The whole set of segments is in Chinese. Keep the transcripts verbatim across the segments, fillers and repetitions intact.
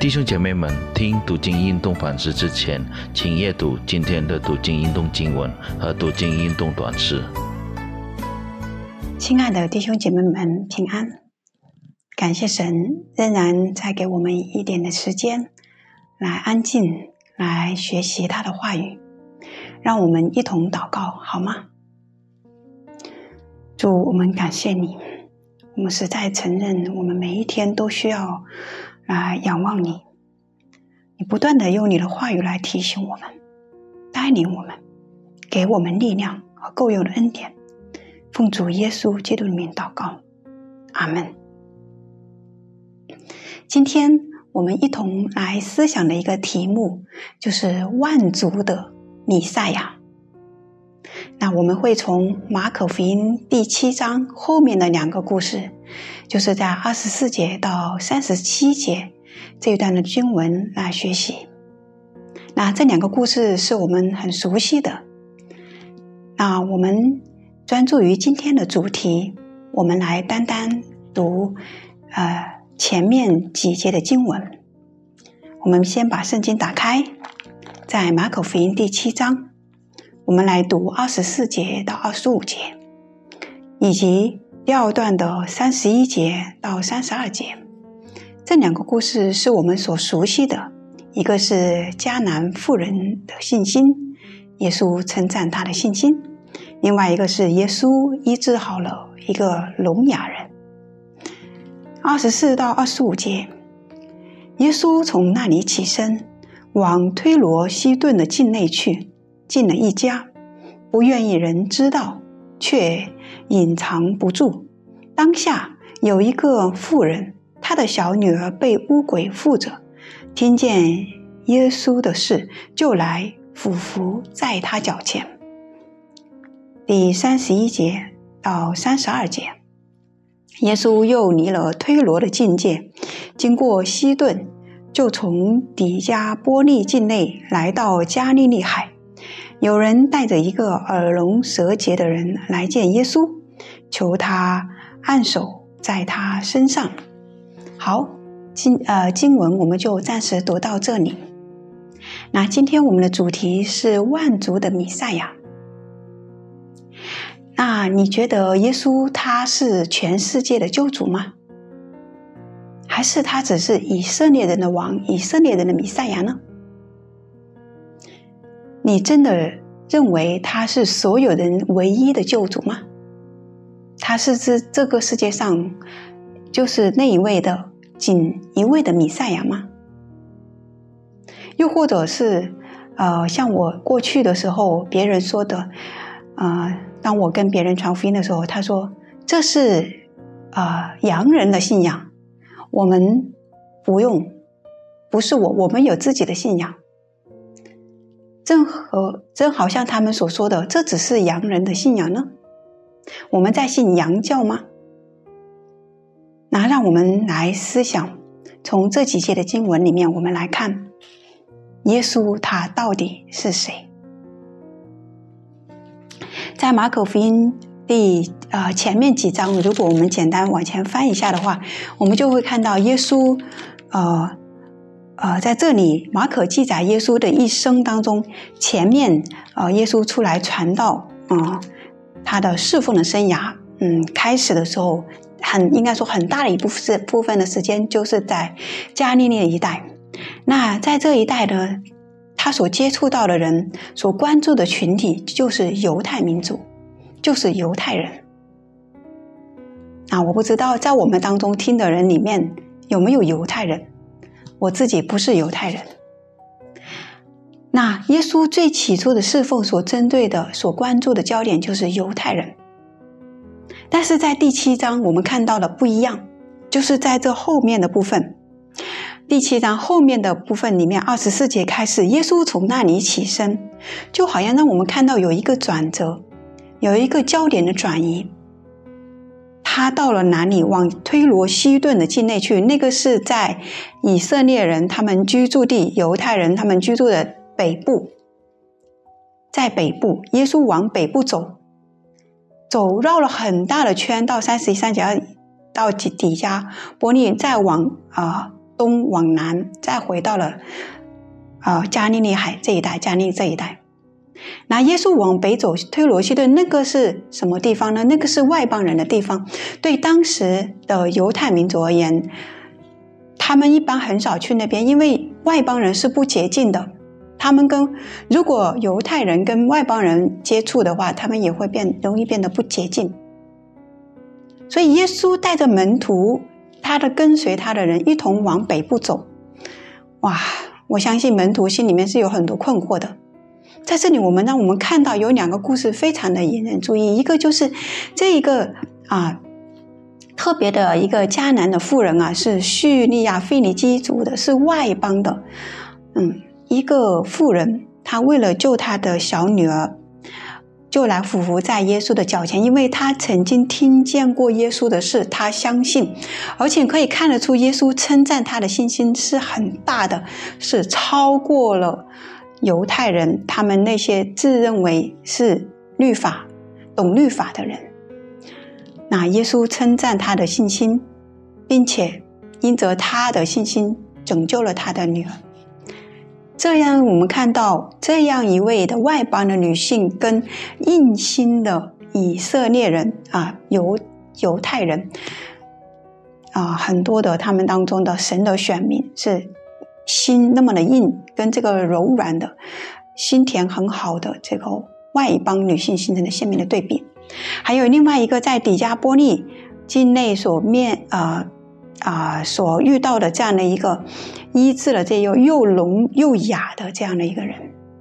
弟兄姐妹们，听读经运动反思之前，请阅读今天的读经运动经文和读经运动短诗。 亲爱的弟兄姐妹们，平安！感谢神仍然再给我们一点的时间来安静，来学习他的话语。让我们一同祷告好吗？主，我们感谢你，我们实在承认我们每一天都需要来仰望你，你不断的用你的话语来提醒我们，带领我们，给我们力量和够用的恩典。奉主耶稣基督的名祷告，阿们。今天我们一同来思想的一个题目就是万族的弥赛亚。那我们会从马可福音第七章后面的两个故事，就是在二十四节到三十七节这一段的经文来学习。那这两个故事是我们很熟悉的。那我们专注于今天的主题，我们来单单读呃前面几节的经文。我们先把圣经打开，在马可福音第七章，我们来读二十四节到二十五节，以及第二段的三十一节到三十二节。这两个故事是我们所熟悉的，一个是迦南妇人的信心，耶稣称赞他的信心；另外一个是耶稣医治好了一个聋哑人。二十四到二十五节，耶稣从那里起身，往推罗西顿的境内去，进了一家，不愿意人知道，却隐藏不住。当下有一个妇人，她的小女儿被污鬼附着，听见耶稣的事，就来俯伏在他脚前。第三十一节到三十二节，耶稣又离了推罗的境界，经过西顿，就从底加波利境内来到加利利海。有人带着一个耳聋舌结的人来见耶稣，求他按手在他身上。好，经呃经文我们就暂时读到这里。那今天我们的主题是万族的弥赛亚。那你觉得耶稣他是全世界的救主吗？还是他只是以色列人的王，以色列人的弥赛亚呢？你真的认为他是所有人唯一的救主吗？他是这这个世界上就是那一位的仅一位的弥赛亚吗？又或者是呃，像我过去的时候别人说的呃，当我跟别人传福音的时候，他说这是呃洋人的信仰，我们不用，不是我，我们有自己的信仰。正和正好像他们所说的，这只是洋人的信仰呢？我们在信洋教吗？那让我们来思想，从这几节的经文里面，我们来看耶稣他到底是谁。在马可福音第呃前面几章，如果我们简单往前翻一下的话，我们就会看到耶稣呃呃在这里马可记载耶稣的一生当中，前面呃耶稣出来传道啊、呃，他的侍奉的生涯，嗯，开始的时候很应该说很大的一部分部分的时间就是在加利利一带。那在这一带呢，他所接触到的人，所关注的群体就是犹太民族，就是犹太人。啊，我不知道在我们当中听的人里面有没有犹太人，我自己不是犹太人。那耶稣最起初的侍奉所针对的、所关注的焦点就是犹太人。但是在第七章我们看到的不一样，就是在这后面的部分，第七章后面的部分里面，二十四节开始，耶稣从那里起身，就好像让我们看到有一个转折，有一个焦点的转移。他到了哪里？往推罗西顿的境内去，那个是在以色列人他们居住地，犹太人他们居住的北部。在北部，耶稣往北部走，走绕了很大的圈，到三十三节到底加波利，再往啊、呃东往南，再回到了呃加利利海这一带，加利利这一带。那耶稣往北走，推罗西顿那个是什么地方呢？那个是外邦人的地方。对当时的犹太民族而言，他们一般很少去那边，因为外邦人是不洁净的。他们跟如果犹太人跟外邦人接触的话，他们也会变容易变得不洁净。所以耶稣带着门徒，他的跟随他的人一同往北部走。哇，我相信门徒心里面是有很多困惑的。在这里我们让我们看到有两个故事非常的引人注意，一个就是这一个啊特别的一个迦南的妇人啊，是叙利亚腓尼基族的，是外邦的嗯，一个妇人，她为了救她的小女儿，就来俯伏在耶稣的脚前，因为她曾经听见过耶稣的事，她相信，而且可以看得出耶稣称赞她的信心是很大的，是超过了犹太人他们那些自认为是律法懂律法的人。那耶稣称赞他的信心，并且因着他的信心拯救了他的女儿。这样我们看到这样一位的外邦的女性跟硬心的以色列人啊，犹犹太人啊，很多的他们当中的神的选民是心那么的硬，跟这个柔软的心田很好的这个外邦女性形成的鲜明的对比。还有另外一个在底加波利境内所面呃啊所遇到的这样的一个医治了这又又聋又哑的这样的一个人，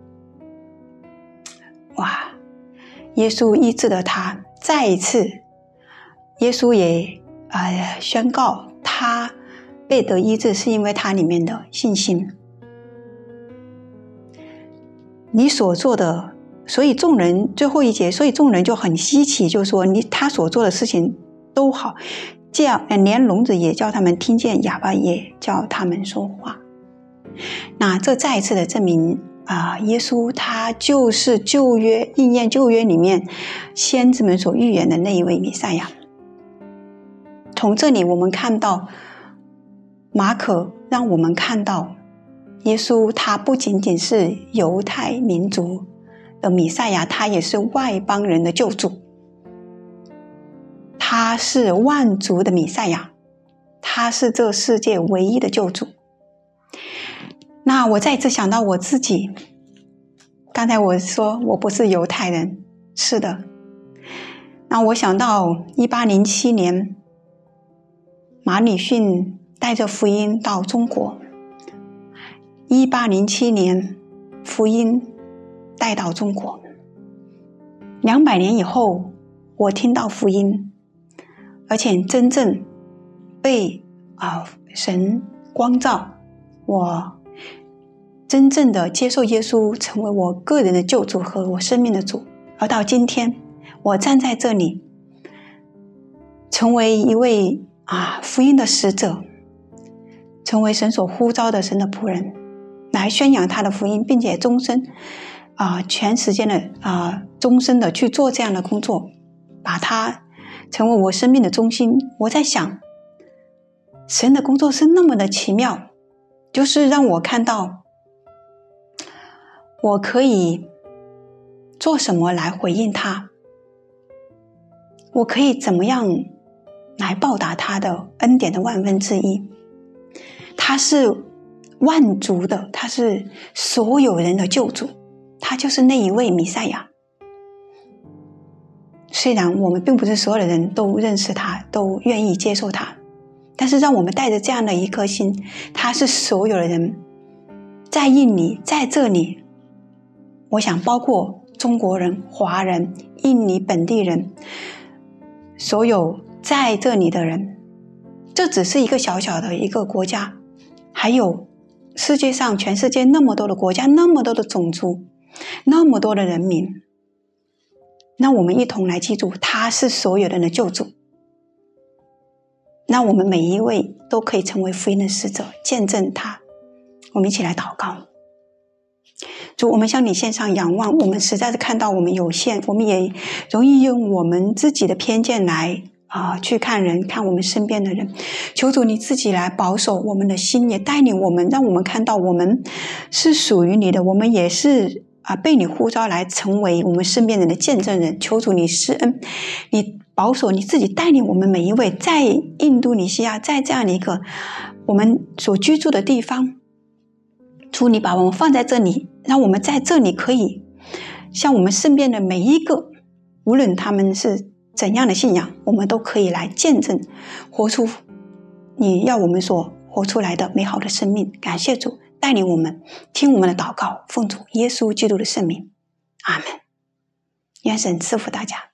哇！耶稣医治了他，再一次，耶稣也呃宣告他被得医治是因为他里面的信心。你所做的，所以众人最后一节，所以众人就很稀奇，就说你他所做的事情都好，这样连聋子也叫他们听见，哑巴也叫他们说话。那这再一次的证明啊、呃，耶稣他就是旧约应验旧约里面先知们所预言的那一位弥赛亚。从这里我们看到马可让我们看到耶稣他不仅仅是犹太民族的弥赛亚，他也是外邦人的救主，他是万族的弥赛亚，他是这世界唯一的救主。那我再次想到我自己，刚才我说我不是犹太人，是的。那我想到一八零七年马礼逊带着福音到中国，一八零七年福音带到中国，两百年以后我听到福音，而且真正被啊、呃、神光照，我真正的接受耶稣成为我个人的救主和我生命的主。而到今天我站在这里，成为一位啊福音的使者，成为神所呼召的神的仆人，来宣扬他的福音，并且终身啊全时间的啊终身的去做这样的工作，把它成为我生命的中心。我在想，神的工作是那么的奇妙，就是让我看到我可以做什么来回应他，我可以怎么样来报答他的恩典的万分之一。他是万族的，他是所有人的救主，他就是那一位弥赛亚。虽然我们并不是所有的人都认识他，都愿意接受他，但是让我们带着这样的一颗心，他是所有的人在印尼，在这里，我想包括中国人、华人、印尼本地人，所有在这里的人，这只是一个小小的一个国家，还有世界上全世界那么多的国家，那么多的种族，那么多的人民。那我们一同来记住，他是所有人的救主。那我们每一位都可以成为福音的使者，见证他。我们一起来祷告。主，我们向你献上仰望，我们实在是看到我们有限，我们也容易用我们自己的偏见来啊、呃，去看人，看我们身边的人。求主你自己来保守我们的心，也带领我们，让我们看到我们是属于你的，我们也是啊、呃、被你呼召来成为我们身边人的见证人。求主你施恩，你保守，你自己带领我们每一位，在印度尼西亚，在这样的一个我们所居住的地方，主你把我们放在这里，让我们在这里可以像我们身边的每一个，无论他们是怎样的信仰，我们都可以来见证，活出你要我们所活出来的美好的生命。感谢主带领我们，听我们的祷告，奉主耶稣基督的圣名，阿们。愿神赐福大家。